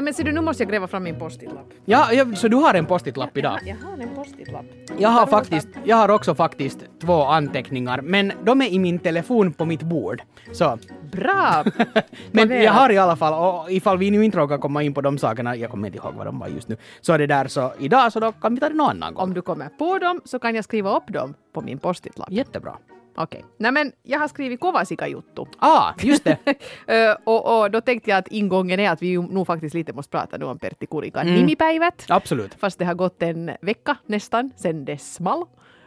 Nej men ser du, nu måste jag gräva fram min post-it-lapp. Ja, så du har en post-it-lapp idag? Jag har en post-it-lapp. Jag har också faktiskt 2 anteckningar, men de är i min telefon på mitt bord. Så. Bra! Men jag har i alla fall, och ifall vi nu inte råkar komma in på de sakerna, jag kommer inte ihåg vad de var just nu, så är det där så idag, så då kan vi ta det någon annan gång. Om du kommer på dem så kan jag skriva upp dem på min post-it-lapp. Jättebra. Okej. Nej men jag har skrivit Kovasika-juttu. Just det. och då tänkte jag att ingången är att vi nog faktiskt lite måste prata nu om Pertti Kurikan nimipäivät. Absolut. Fast det har gått en vecka nästan sen det small.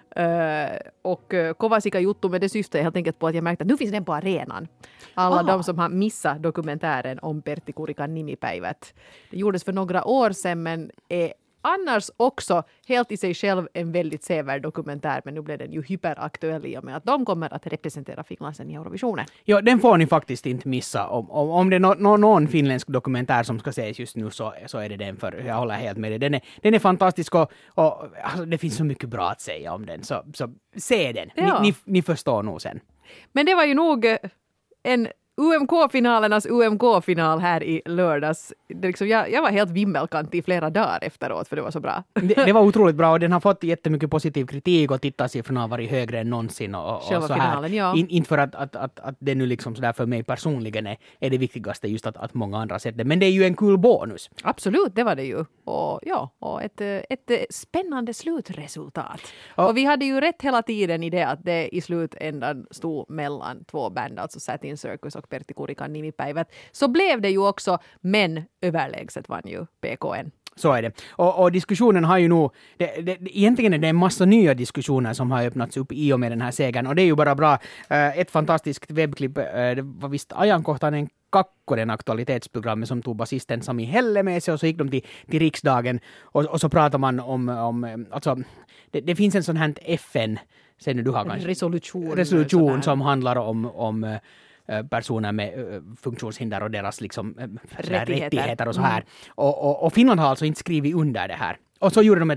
Och Kovasika-juttu med det syftet är helt enkelt på att jag märkte att nu finns den på arenan. Alla de som har missat dokumentären om Pertti Kurikan nimipäivät. Det gjordes för några år sedan men är annars också helt i sig själv en väldigt sevärd dokumentär, men nu blev den ju hyperaktuell i och med att de kommer att representera Finland i Eurovisionen. Ja, den får ni faktiskt inte missa. Om det är någon finländsk dokumentär som ska ses just nu så är det den, för jag håller helt med dig. Den är fantastisk och alltså, det finns så mycket bra att säga om den, så se den. Ja. Ni förstår nog sen. Men det var ju nog en UMK-finalernas UMK-final här i lördags. Jag var helt vimmelkant i flera dagar efteråt för det var så bra. Det var otroligt bra och den har fått jättemycket positiv kritik och tittarsiffrorna har varit högre än någonsin. Och själva så här. finalen, ja. Inte för att det nu liksom sådär för mig personligen är det viktigaste just att många andra sett det. Men det är ju en kul bonus. Absolut, det var det ju. Och ett spännande slutresultat. Och vi hade ju rätt hela tiden i det att det i slutändan stod mellan 2 band, alltså Satin Circus och Pertti Kurikan nimipäivät. Så blev det ju också, men överlägset vann ju PKN. Så är det. Och diskussionen har ju nog... Egentligen är det en massa nya diskussioner som har öppnats upp i och med den här segern. Och det är ju bara bra. Ett fantastiskt webbklipp. Det var visst ajankohtainen kakkonen aktualitetsprogrammet som tog basisten Sami Helle med sig och så gick de till riksdagen och så pratar man om alltså det finns en sån här FN sen du har kanske resolution som handlar om personer med funktionshinder och deras liksom rättigheter och så här. Och Finland har alltså inte skrivit under det här. Och så gjorde de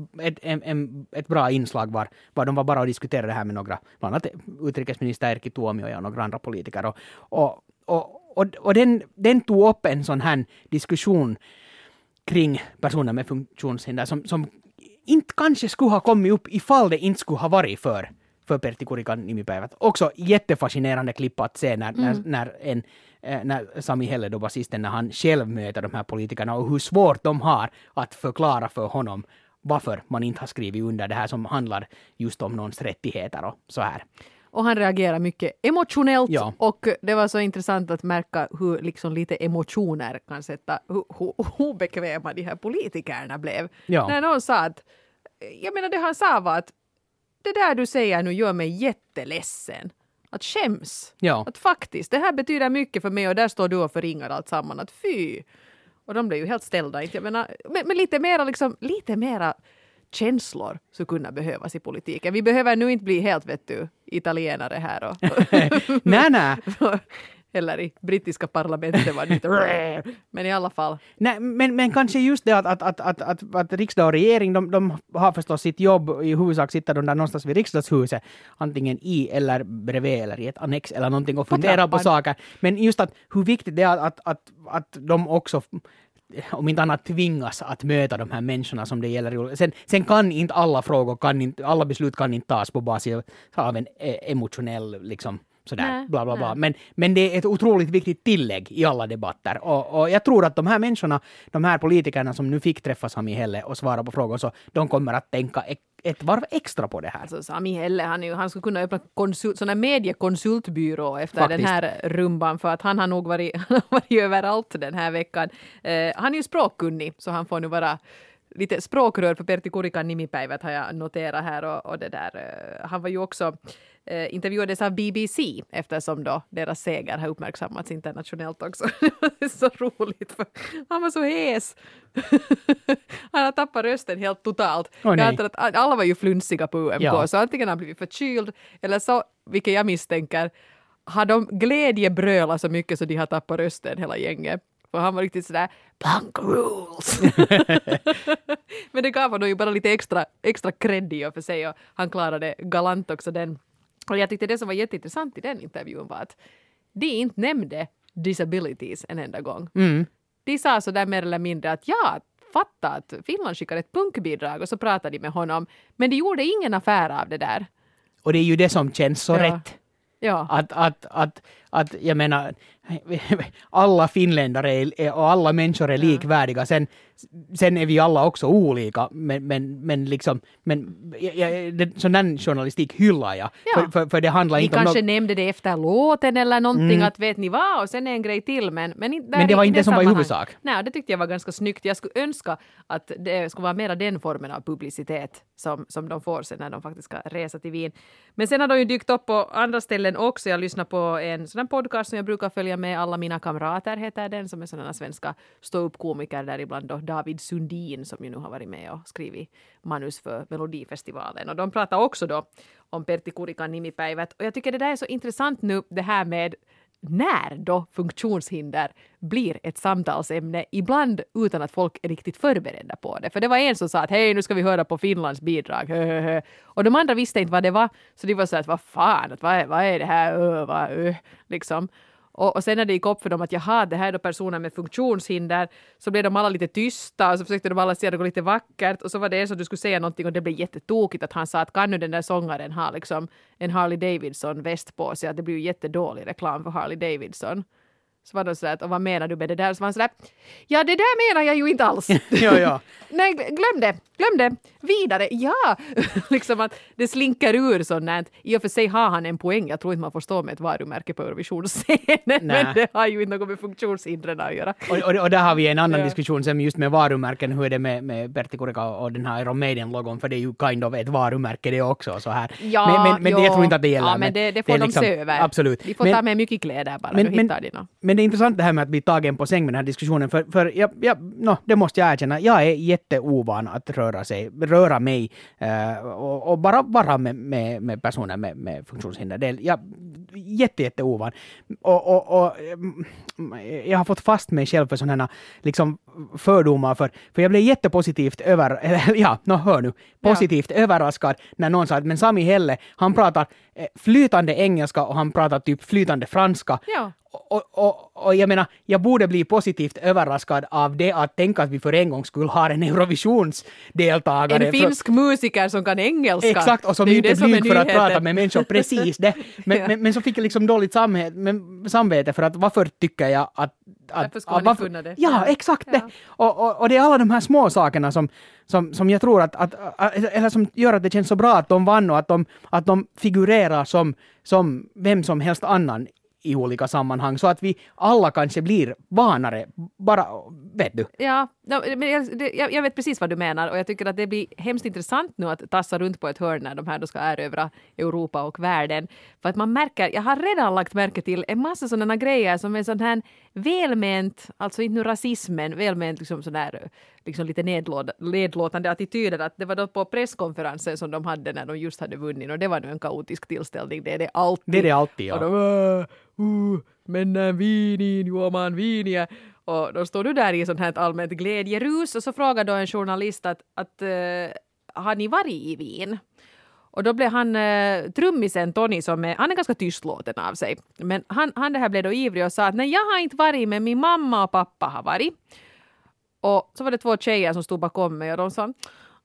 ett bra inslag var de var bara och diskuterade det här med några, bland annat utrikesminister Erkki Tuomioja och några andra politiker. Och den tog upp en sån här diskussion kring personer med funktionshinder som inte kanske skulle ha kommit upp ifall det inte skulle ha varit för Pertti Kurikan nimipäivät. Också jättefascinerande klipp att se när Sami Helle då basisten, när han själv möter de här politikerna och hur svårt de har att förklara för honom varför man inte har skrivit under det här som handlar just om någons rättigheter och så här. Och han reagerar mycket emotionellt, ja. Och det var så intressant att märka hur liksom lite emotioner kan sätta, hur obekväma de här politikerna blev. Ja. När någon sa att, jag menar det han sa var att det där du säger nu gör mig jätteledsen. Att skäms. Ja. Att faktiskt, det här betyder mycket för mig och där står du och förringar allt samman. Att fy. Och de blev ju helt ställda. Jag menar, men lite mera känslor så kunna behövas i politiken. Vi behöver nu inte bli helt italienare här. Och nej. Eller i brittiska parlamentet var det lite men i alla fall. Nej, men kanske just det att riksdag och regering, de har förstås sitt jobb, i huvudsak sitter de där någonstans vid riksdagshuset, antingen i eller bredvid eller i ett annex eller någonting och fundera på saker. Men just att hur viktigt det är att de också, om inte annat, tvingas att möta de här människorna som det gäller. Sen kan inte alla frågor, alla beslut kan inte tas på basis av en emotionell liksom sådär, bla bla bla. Men det är ett otroligt viktigt tillägg i alla debatter. Och jag tror att de här människorna, de här politikerna som nu fick träffa Sami Helle och svara på frågor, så de kommer att tänka ett varv extra på det här. Alltså Sami Helle, han skulle kunna öppna sån här mediekonsultbyrå efter faktiskt den här rumban, för att han har nog varit överallt den här veckan. Han är ju språkkunnig, så han får nu vara lite språkrör för Pertti Kurikan nimipäivät, har jag noterat här. Och det där, han var ju också intervjuades av BBC eftersom då deras seger har uppmärksammats internationellt också. Det är så roligt, för han var så hes. Han har tappat rösten helt totalt. Jag antar att alla var ju flunsiga på UMK, så antingen har han blivit förkyld eller så, vilket jag misstänker, har de glädjebrölat så mycket så de har tappat rösten hela gänget. För han var riktigt sådär, punk rules. Men det gav honom ju bara lite extra cred i och för sig, och han klarade galant också den. Och jag tyckte det som var jätteintressant i den intervjun var att de inte nämnde disabilities en enda gång. de sa så där mer eller mindre att fatta att Finland skickar ett punkbidrag och så pratade de med honom. Men de gjorde ingen affär av det där. Och det är ju det som känns så rätt. Ja. Att jag menar, alla finländare och alla människor är likvärdiga. Sen är vi alla också olika. Men liksom, sån där journalistik hyllar jag. För det handlar inte om... Ni kanske nämnde det efter låten eller någonting, att vet ni vad, och sen är en grej till. Men det var inte det som var i huvudsak. Nej, det tyckte jag var ganska snyggt. Jag skulle önska att det skulle vara mera den formen av publicitet som de får sen när de faktiskt ska resa till Wien. Men sen har de ju dykt upp på andra ställen också. Jag lyssnar på en sån podcast som jag brukar följa med, Alla mina kamrater heter den, som är sådana svenska stå-upp-komiker, där ibland då David Sundin som ju nu har varit med och skrivit manus för Melodifestivalen. Och de pratar också då om Pertti Kurikan nimipäivät. Och jag tycker det där är så intressant nu, det här med när då funktionshinder blir ett samtalsämne, ibland utan att folk är riktigt förberedda på det. För det var en som sa att hej, nu ska vi höra på Finlands bidrag. Och de andra visste inte vad det var. Så de var så att vad fan, vad är det här? Liksom. Och sen när det gick upp för dem att det här är då personer med funktionshinder, så blev de alla lite tysta och så försökte de alla säga något lite vackert, och så var det en som du skulle säga någonting och det blev jättetokigt att han sa att kan nu den där sångaren ha liksom en Harley Davidson väst på sig, att det blir ju jättedålig reklam för Harley Davidson. Så var de sådär, och vad menar du med det där? Så var han sådär, ja det där menar jag ju inte alls. ja. Nej, glöm det. Vidare, ja. Liksom att det slinker ur sådant. I och för sig har han en poäng. Jag tror inte man får stå med ett varumärke på Eurovisionsscenen. Men det har ju inte något med funktionshindren att göra. Och där har vi en annan diskussion som just med varumärken. Hur är det med Pertti Kurikka och den här Iron Maiden-logon? För det är ju kind of ett varumärke det också. Så här. Ja, men jag tror inte att det gäller. Ja, men det får de liksom, se över. Absolut. Vi får ta med mycket kläder bara. Men det är intressant det här med att bli tagen på säng med den här diskussionen. För det måste jag erkänna. Jag är jätteovan att röra mig och bara vara med personer med funktionshinder. Jag är jätteovan. Och jag har fått fast mig själv för sådana liksom fördomar. För jag blev jättepositivt positivt överraskad när någon sa att men Sami Helle, han pratar flytande engelska och han pratar typ flytande franska. Ja. Och jag menar, jag borde bli positivt överraskad av det, att tänka att vi för en gång skulle ha en Eurovisionsdeltagare. En finsk musiker som kan engelska. Exakt, och som inte blyg för att prata med människor. Precis det. Men så fick jag liksom dåligt samvete för att varför tycker jag att varför ska ni funna det? Ja, exakt det. Och det är alla de här små sakerna som jag tror eller som gör att det känns så bra att de vann och att de figurerar som vem som helst annan i olika sammanhang, så att vi alla kanske blir vanare, bara, vet du? Ja, men jag vet precis vad du menar, och jag tycker att det blir hemskt intressant nu att tassa runt på ett hörn när de här då ska erövra Europa och världen. För att man märker, jag har redan lagt märke till en massa sådana grejer som är sån här välment, alltså inte nu rasismen, välment liksom sån här liksom lite nedlåtande attityder, att det var då på presskonferensen som de hade när de just hade vunnit, och det var nu en kaotisk tillställning, det är det alltid. Det är det alltid, ja. Och de men vinin, juomaan viiniä. Och då står du där i sånt här allmänt glädjerus, och så frågar då en journalist att har ni varit i Wien? Och då blev han trummisen Tony, han är ganska tystlåten av sig. Men han det här blev då ivrig och sa att nej, jag har inte varit, men min mamma och pappa har varit. Och så var det 2 tjejer som stod bakom mig och de sa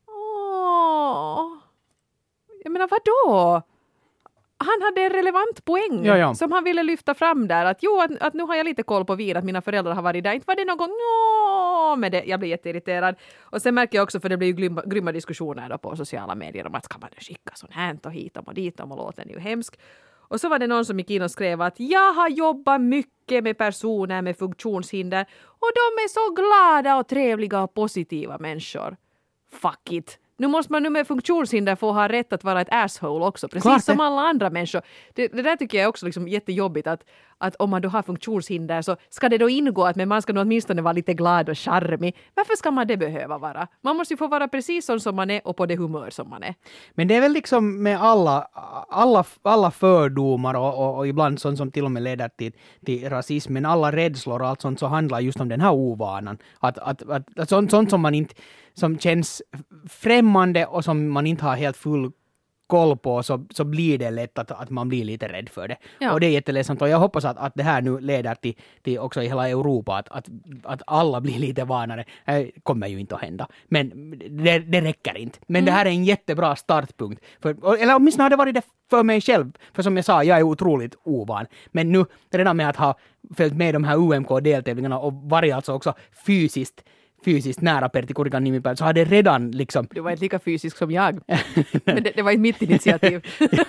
jag menar vadå? Han hade en relevant poäng som han ville lyfta fram där. Att nu har jag lite koll på Wien, att mina föräldrar har varit där. Inte var det någon gång med det. Jag blir jätteirriterad. Och sen märker jag också, för det blir ju grymma diskussioner då på sociala medier om att ska man skicka sånt här och hit och dit och låten är ju hemsk. Och så var det någon som gick in och skrev att jag har jobbat mycket med personer med funktionshinder och de är så glada och trevliga och positiva människor. Fuck it. Nu måste man med funktionshinder få ha rätt att vara ett asshole också, precis som alla andra människor. Det där tycker jag är också liksom jättejobbigt, att om man då har funktionshinder så ska det då ingå att man ska nog åtminstone vara lite glad och charmig. Varför ska man det behöva vara? Man måste ju få vara precis som man är och på det humör som man är. Men det är väl liksom med alla fördomar och ibland sånt som till och med leder till rasism, men alla rädslor och allt sånt, så handlar just om den här ovanan. Att sånt som man inte, som känns främmande och som man inte har helt full koll på så blir det lätt att man blir lite rädd för det. Ja. Och det är jätteledsamt och jag hoppas att det här nu leder till också i hela Europa att alla blir lite vanare. Det kommer ju inte att hända. Men det räcker inte. Men det här är en jättebra startpunkt. Eller åtminstone har det varit det för mig själv. För som jag sa, jag är otroligt ovan. Men nu redan med att ha följt med de här UMK-deltävlingarna och varit alltså också fysiskt nära Pertti Kurikan nimipäivä, så har det redan liksom... Du var inte lika fysisk som jag. Men det var inte mitt initiativ.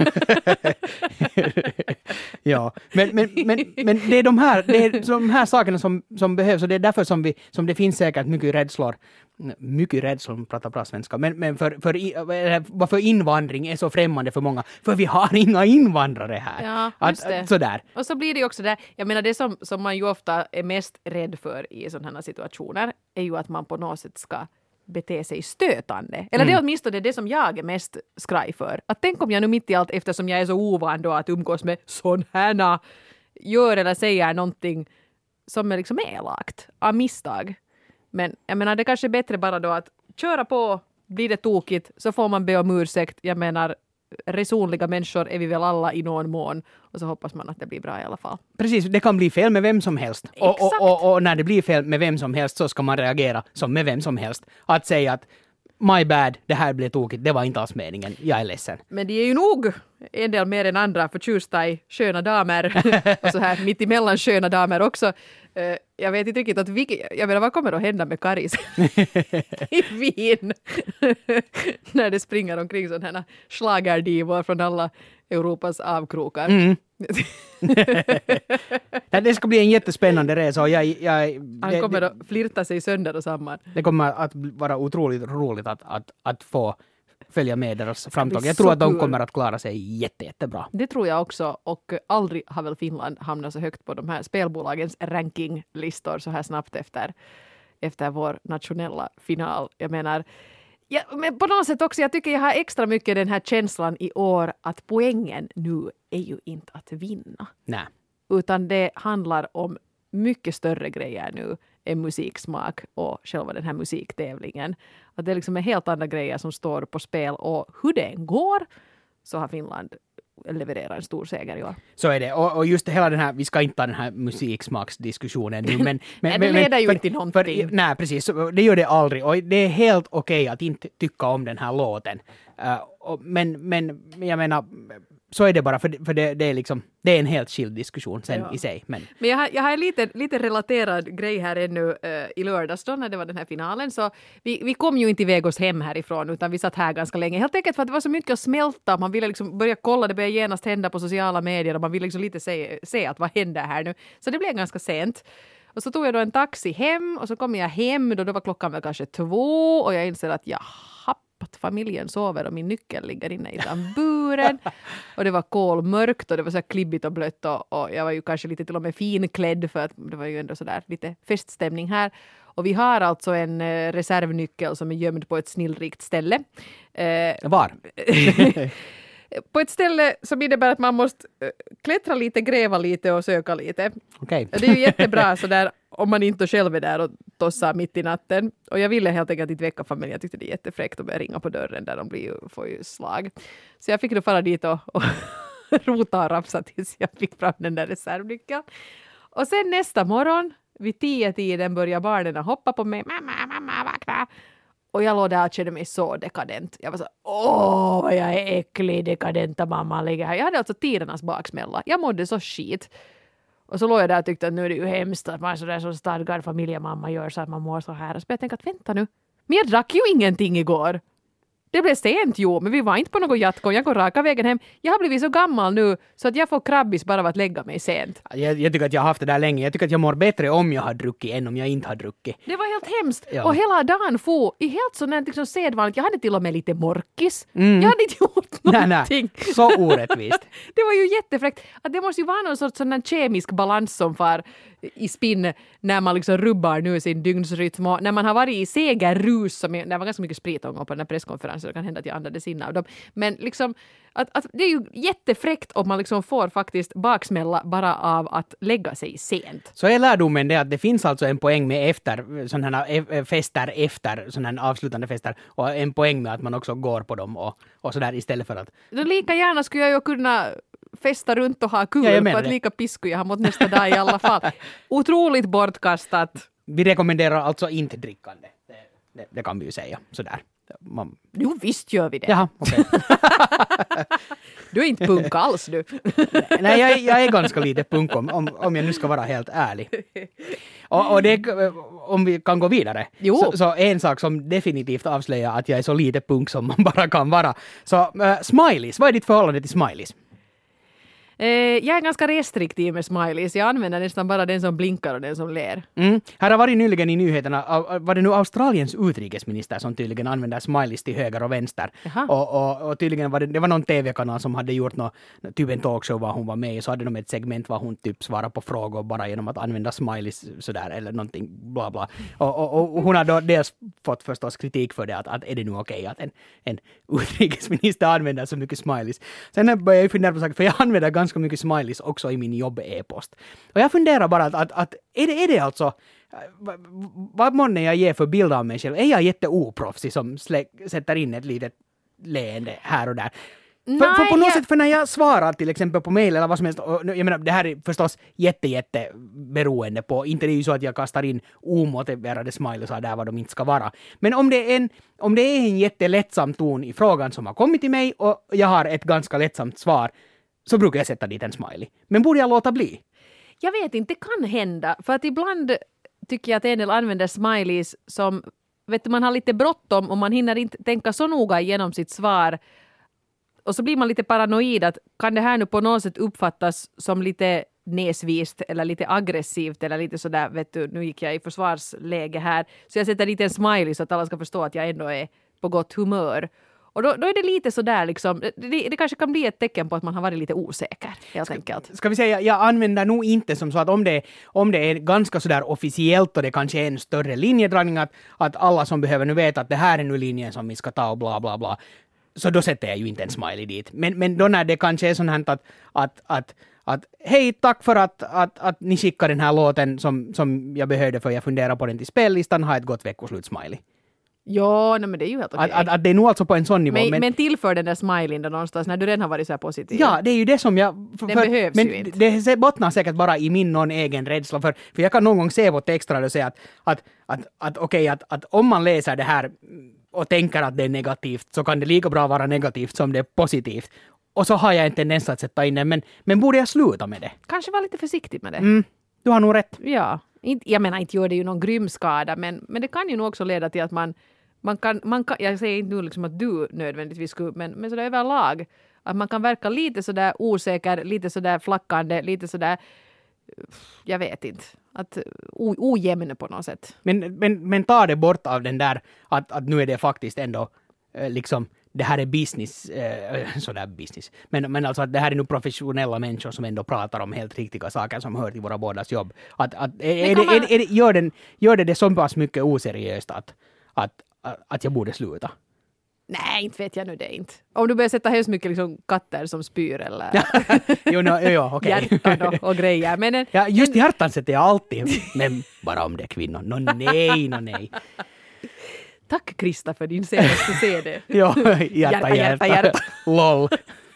Ja, men det är de här sakerna som behövs och det är därför som det finns säkert mycket rädslor, pratar bra svenska, men varför invandring är så främmande för många, för vi har inga invandrare här. Ja, just det. Sådär. Och så blir det ju också där, jag menar det som man ju ofta är mest rädd för i sådana här situationer är ju att man på något sätt ska bete sig stötande. Eller det är åtminstone det som jag är mest skraj för. Att tänk om jag nu mitt i allt, eftersom jag är så ovan då att umgås med sån här gör eller säger någonting som är liksom elakt av misstag. Men jag menar det kanske är bättre bara då att köra på, blir det tokigt så får man be om ursäkt. Jag menar resonliga människor är vi väl alla i någon mån och så hoppas man att det blir bra i alla fall. Precis, det kan bli fel med vem som helst. Och när det blir fel med vem som helst så ska man reagera som med vem som helst. Att säga att my bad, det här blev tokigt, det var inte alls meningen, jag är ledsen. Men de är ju nog en del mer än andra förtjusta i sköna damer och så här mitt emellan sköna damer också. Jag vet inte riktigt jag menar, vad kommer att hända med Karis i Wien när det springer omkring sådana här schlagerdivor från alla Europas avkrokar. Det ska bli en jättespännande resa och han kommer att flirta sig sönder och samman. Det kommer att vara otroligt roligt att få följa med deras framtag. Jag tror att de kommer att klara sig jättebra. Det tror jag också, och aldrig har väl Finland hamnat så högt på de här spelbolagens rankinglistor så här snabbt efter vår nationella final. Jag menar, men på något sätt också, jag tycker jag har extra mycket den här känslan i år att poängen nu är ju inte att vinna. Nej. Utan det handlar om mycket större grejer nu än musiksmak och själva den här musiktävlingen. Att det liksom är helt andra grejer som står på spel och hur det går så har Finland levererat en stor seger i år. Så är det. Och just hela den här, vi ska inte ha den här musiksmaksdiskussionen nu, men det leder ju inte till någonting. Nej, precis. Det gör det aldrig. Och det är helt okej att inte tycka om den här låten. Men jag menar, så är det bara, för det är liksom, det är en helt skild diskussion sen i sig. Men jag har en lite relaterad grej här ännu i lördags då när det var den här finalen. Så vi kom ju inte iväg oss hem härifrån utan vi satt här ganska länge. Helt enkelt för att det var så mycket att smälta. Man ville liksom börja kolla, det började genast hända på sociala medier och man ville liksom lite se att vad händer här nu. Så det blev ganska sent. Och så tog jag då en taxi hem och så kom jag hem då var klockan väl kanske 2 och jag inser att att familjen sover och min nyckel ligger inne i tamburen. Och det var kolmörkt och det var så här klibbigt och blött och jag var ju kanske lite till och med finklädd för att det var ju ändå så där lite feststämning här. Och vi har alltså en reservnyckel som är gömd på ett snillrikt ställe. Var? På ett ställe som innebär att man måste klättra lite, gräva lite och söka lite. Okay. Det är ju jättebra så där om man inte själv är där och tossar mitt i natten. Och jag ville helt enkelt inte väcka familjen. Jag tyckte det är jättefräckt att börja ringa på dörren där de får ju slag. Så jag fick då fara dit och rota och rapsa tills jag fick fram den där reservnyckeln. Och sen nästa morgon vid 10-tiden börjar barnen hoppa på mig. Mamma, vakna! Och jag låg där och kände mig så dekadent. Jag var så, vad jag är äcklig, dekadenta mamma ligger här. Jag hade alltså tidernas baksmälla. Jag mådde så skit. Och så låg jag där och tyckte att nu är det ju hemskt att man är sådär så stadgad familjemamma gör så att man mår så här. Och så jag tänkte att vänta nu, men jag drack ju ingenting igår. Det blev sent men vi var inte på någon jatkon. Jag går raka vägen hem. Jag har blivit så gammal nu så att jag får krabbis bara av att lägga mig sent. Jag tycker att jag har haft det där länge. Jag tycker att jag mår bättre om jag har druckit än om jag inte har druckit. Det var helt hemskt. Ja. Och hela dagen i helt sådant liksom sedvanligt. Jag hade till och med lite morkis. Jag hade inte gjort någonting. Nej. Så orättvist. Det var ju jättefräckt. Att det måste ju vara någon sorts sån kemisk balans som far i spinn när man liksom rubbar nu sin dygnsrytm. Och när man har varit i segerrus, det var ganska mycket spritångor på den här presskonferensen, det kan hända att jag andades in av dem. Men liksom, att det är ju jättefräckt om man liksom får faktiskt baksmälla bara av att lägga sig sent. Så är lärdomen det att det finns alltså en poäng med efter sådana här fester, efter sådana här avslutande fester, och en poäng med att man också går på dem och sådär istället för att... Lika gärna skulle jag ju kunna festa runt och ha kul, för att lika pisku jag har mot nästa dag i alla fall. Otroligt bortkastat. Vi rekommenderar alltså inte drickande. Det kan vi ju säga. Sådär. Jo, visst gör vi det. Jaha, okej. Du är inte punk alls, du. Nej, jag är ganska lite punk om jag nu ska vara helt ärlig. Och det, om vi kan gå vidare. Så en sak som definitivt avslöjar att jag är så lite punk som man bara kan vara. Så smileys, vad är ditt förhållande till smileys? Jag är ganska restriktiv med smileys. Jag använder nästan bara den som blinkar och den som ler. Här har varit nyligen i nyheterna, var det nu Australiens utrikesminister som tydligen använder smileys till höger och vänster. Och tydligen var det var någon tv-kanal som hade gjort typ en talkshow var hon var med i, så hade de ett segment var hon typ svarar på frågor bara genom att använda smileys sådär eller någonting bla bla. Och hon har då dels fått förstås kritik för det att är det nu okej att en utrikesminister använder så mycket smileys. Sen började jag fundera på saker, för jag använder ganska mycket smileys också i min jobb-e-post. Och jag funderar bara att är det alltså, vad månne jag ger för bild av mig själv? Är jag jätteoproffsig som sätter in ett litet leende här och där? För på något sätt, för när jag svarar till exempel på mejl eller vad som helst, och jag menar, det här är förstås jätte beroende på, inte det är ju så att jag kastar in omotiverade smileys där vad de inte ska vara. Men om det är en jättelättsam ton i frågan som har kommit till mig och jag har ett ganska lättsamt svar, så brukar jag sätta dit en smiley. Men borde jag låta bli? Jag vet inte, det kan hända. För att ibland tycker jag att en del använder smileys som, vet du, man har lite bråttom och man hinner inte tänka så noga igenom sitt svar. Och så blir man lite paranoid att kan det här nu på något sätt uppfattas som lite näsvist eller lite aggressivt eller lite sådär, vet du, nu gick jag i försvarsläge här. Så jag sätter dit en smiley så att alla ska förstå att jag ändå är på gott humör. Och då är det lite sådär liksom, det kanske kan bli ett tecken på att man har varit lite osäker, helt enkelt. Ska vi säga, jag använder nog inte som så att om det är ganska sådär officiellt och det kanske är en större linjedragning att alla som behöver nu veta att det här är nu linjen som vi ska ta och bla bla bla. Så då sätter jag ju inte en smiley dit. Men då när det kanske är sånt här att hej, tack för att ni skickar den här låten som jag behövde för jag funderar på den till spellistan, ha ett gott veckoslut smiley. Ja, men det är ju helt okej. Att det är nog alltså på en sån nivå. Men tillför den där smileyn då någonstans när du redan har varit så här positiv. Ja, det är ju det som jag... Den behövs ju inte. Det bottnar säkert bara i min någon egen rädsla. För jag kan någon gång se på texter och säga att om man läser det här och tänker att det är negativt så kan det lika bra vara negativt som det är positivt. Och så har jag en tendens att sätta in det. Men borde jag sluta med det? Kanske vara lite försiktig med det. Du har nog rätt. Ja. Jag menar, inte gör det ju någon grym skada, men det kan ju nog också leda till att man kan, jag säger inte nu liksom att du nödvändigtvis skulle, men sådär överlag, att man kan verka lite sådär osäker, lite sådär flackande, lite sådär, jag vet inte, att ojämn på något sätt. Men ta det bort av den där att nu är det faktiskt ändå liksom, det här är business, sådär business, men alltså att det här är nu professionella människor som ändå pratar om helt riktiga saker som hör till våra bådas jobb. Gör det så pass mycket oseriöst att jag borde sluta? Nej, inte vet jag nu det inte. Om du börjar sätta hemskt mycket liksom katter som spyr eller okej. Hjärtan och grejer. Men just hjärtan sätter jag alltid, men bara om det är kvinnor. Nej. Tack Krista för din senaste CD. Ja, hjärta. Lol.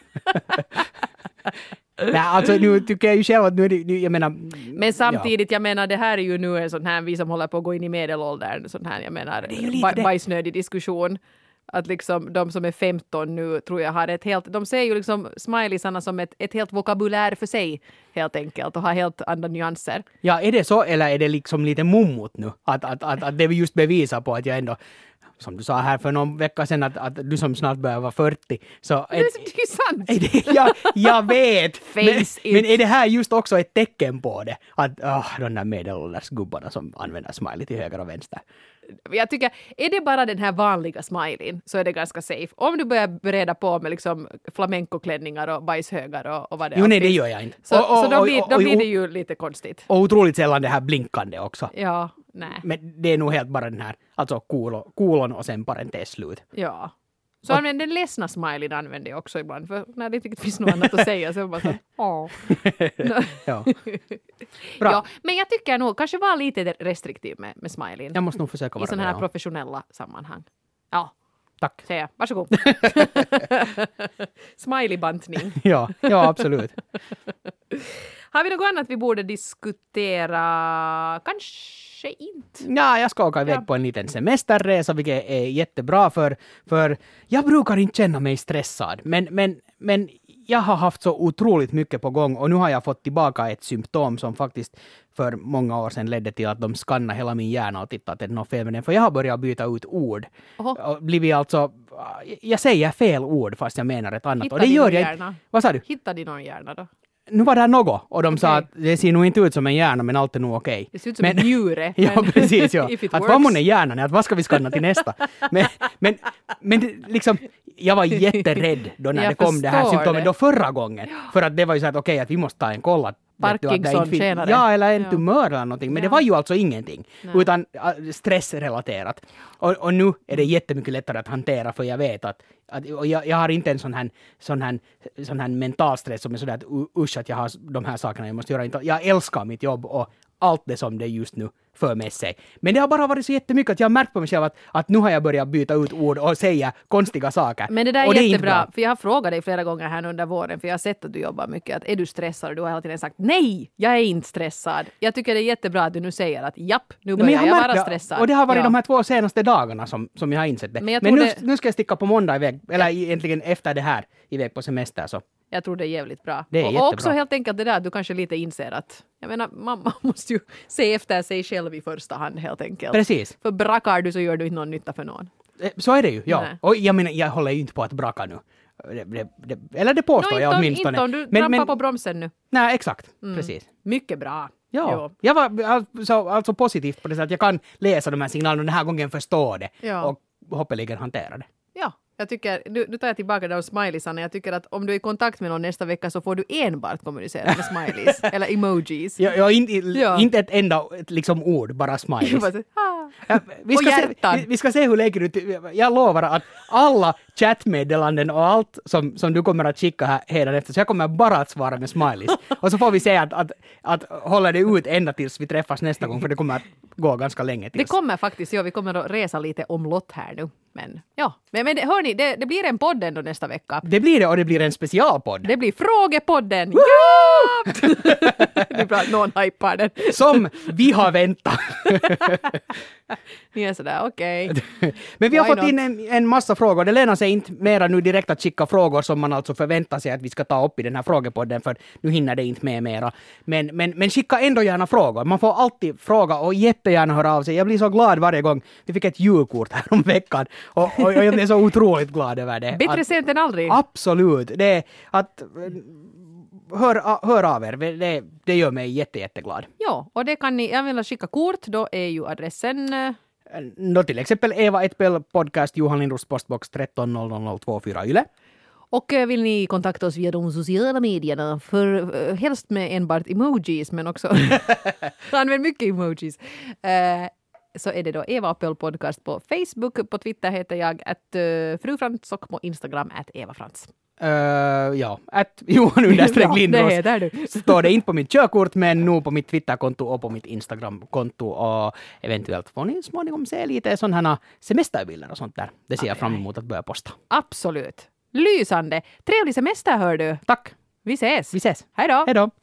Nej, alltså nu tycker jag ju själv att nu jag menar... Men samtidigt, jag menar, det här är ju nu en sån här, vi som håller på att gå in i medelåldern, sån här, jag menar, bajsnödig diskussion. Att liksom de som är 15 nu tror jag har ett helt, de ser ju liksom smileysarna som ett helt vokabulär för sig helt enkelt och har helt andra nyanser. Ja, är det så eller är det liksom lite mummot nu? Att det just bevisar på att jag ändå, som du sa här för någon vecka sedan att du som snart börjar vara 40. Så det är ju sant. Jag vet. men är det här just också ett tecken på det? Att de där medelålders gubbarna som använder smiley till höger och vänster. Jag tycker, är det bara den här vanliga smileyn så är det ganska safe. Om du börjar bereda på med liksom flamencoklänningar och bajshögar och vad det är. Jo, nej, det gör jag inte. Så då blir det ju lite konstigt. Och otroligt sällan det här blinkande också. Ja, nej. Men det är nog helt bara den här, alltså kolon och sen parentes slut. Ja. Så den ledsna smileyn använder jag också ibland. För när det inte finns något annat att säga så är det bara så ja. Bra. Ja, men jag tycker nog kanske vara lite restriktiv med smileyn. Jag måste nog försöka vara i sådana här professionella sammanhang. Ja. Tack. Säger jag. Varsågod. Smiley-bantning. Ja, absolut. Har vi något annat vi borde diskutera? Kanske inte. Ja, jag ska åka iväg på en liten semesterresa, vilket är jättebra för jag brukar inte känna mig stressad. Men jag har haft så otroligt mycket på gång och nu har jag fått tillbaka ett symptom som faktiskt för många år sedan ledde till att de skannade hela min hjärna och tittade att det är något fel med den. För jag har börjat byta ut ord. Och blivit alltså, jag säger fel ord fast jag menar ett annat. Hittar och det gör jag hjärna? Vad sa du? Hittar de någon hjärna då? Nu var det något och de sa att det ser nog inte ut som en hjärna men allt är nog okej. Det ser ut som en njure. Ja, precis. Ja. Att vad mån är hjärnan? Att vad ska vi skanna till nästa? Men liksom, jag var jätterädd då när det kom det här symptomet då förra gången. För att det var ju så att okej, att vi måste ta en koll. Parkinson tjänare. Ja, eller en tumör eller någonting. Men det var ju alltså ingenting. Utan stressrelaterat. Och nu är det jättemycket lättare att hantera för jag vet att och jag har inte en sån här mental stress som är sådär att usch att jag har de här sakerna jag måste göra. Jag älskar mitt jobb och allt det som det just nu för med sig. Men det har bara varit så jättemycket att jag har märkt på mig själv att nu har jag börjat byta ut ord och säga konstiga saker. Men det där är jättebra, för jag har frågat dig flera gånger här under våren, för jag har sett att du jobbar mycket, att är du stressad? Och du har hela tiden sagt nej, jag är inte stressad. Jag tycker det är jättebra att du nu säger att japp, nu börjar jag vara stressad. Och det har varit de här 2 senaste dagarna som jag har insett det. Men nu ska jag sticka på måndag iväg, eller egentligen efter det här iväg på semester så. Jag tror det är jävligt bra. Det är och jättebra. Också helt enkelt det där att du kanske lite inser att jag menar, man måste ju se efter sig själv i första hand helt enkelt. Precis. För brakar du så gör du inte någon nytta för någon. Så är det ju, ja. Nej. Och jag menar, jag håller ju inte på att braka nu. Eller det påstår jag åtminstone. Inte om du trampar på bromsen nu. Nej, exakt. Precis. Mycket bra. Ja. Jo. Jag var alltså positivt på det sättet att jag kan läsa de här signalerna och den här gången förstå det. Ja. Och hoppeligen hantera det. Ja, jag tycker, nu tar jag tillbaka de smileysarna. Jag tycker att om du är i kontakt med någon nästa vecka så får du enbart kommunicera med smileys eller emojis. Inte ett enda liksom ord, bara smileys. Vi ska se hur lägger ut. Jag lovar att alla chattmeddelanden och allt som du kommer att skicka här efter, så jag kommer bara att svara med smileys. Och så får vi se att hålla det ut ända tills vi träffas nästa gång, för det kommer att gå ganska länge tills. Det kommer faktiskt, vi kommer att resa lite omlott här nu. Men ja, men hörni, det blir en podd ändå nästa vecka. Det blir det, och det blir en specialpodd. Det blir frågepodden. Ja! Det är bra att någon hypar den. Som vi har väntat. Ni är sådär, okej. Men vi har fått in en massa frågor. Det lönar sig inte mera nu direkt att skicka frågor som man alltså förväntar sig att vi ska ta upp i den här frågepodden, för nu hinner det inte med mera. Men skicka ändå gärna frågor. Man får alltid fråga och jättegärna höra av sig. Jag blir så glad varje gång. Vi fick ett julkort här om veckan och jag är så otroligt glad över det. Bättre sent än aldrig. Absolut. Det är att hör av er. Det gör mig jätteglad. Ja, och det kan ni, jag vill skicka kort, då är ju adressen... Då till exempel Eva Etbell podcast, Johan Lindros postbox 130024 Yle. Och vill ni kontakta oss via de sociala medierna, för helst med enbart emojis, men också använd mycket emojis. Så är det då Eva Apple podcast på Facebook, på Twitter heter jag @frufrans och på Instagram @evafrans. Ja, Johan_Lindros. Det heter du. Står det inte på mitt körkort, men nu på mitt Twitterkonto och på mitt Instagramkonto, och eventuellt får ni småningom se lite sådana semesterbilder och sånt där. Det ser jag fram emot att börja posta. Absolut. Lysande. Trevlig semester, hör du. Tack. Vi ses. Vi ses. Hej då. Hej då.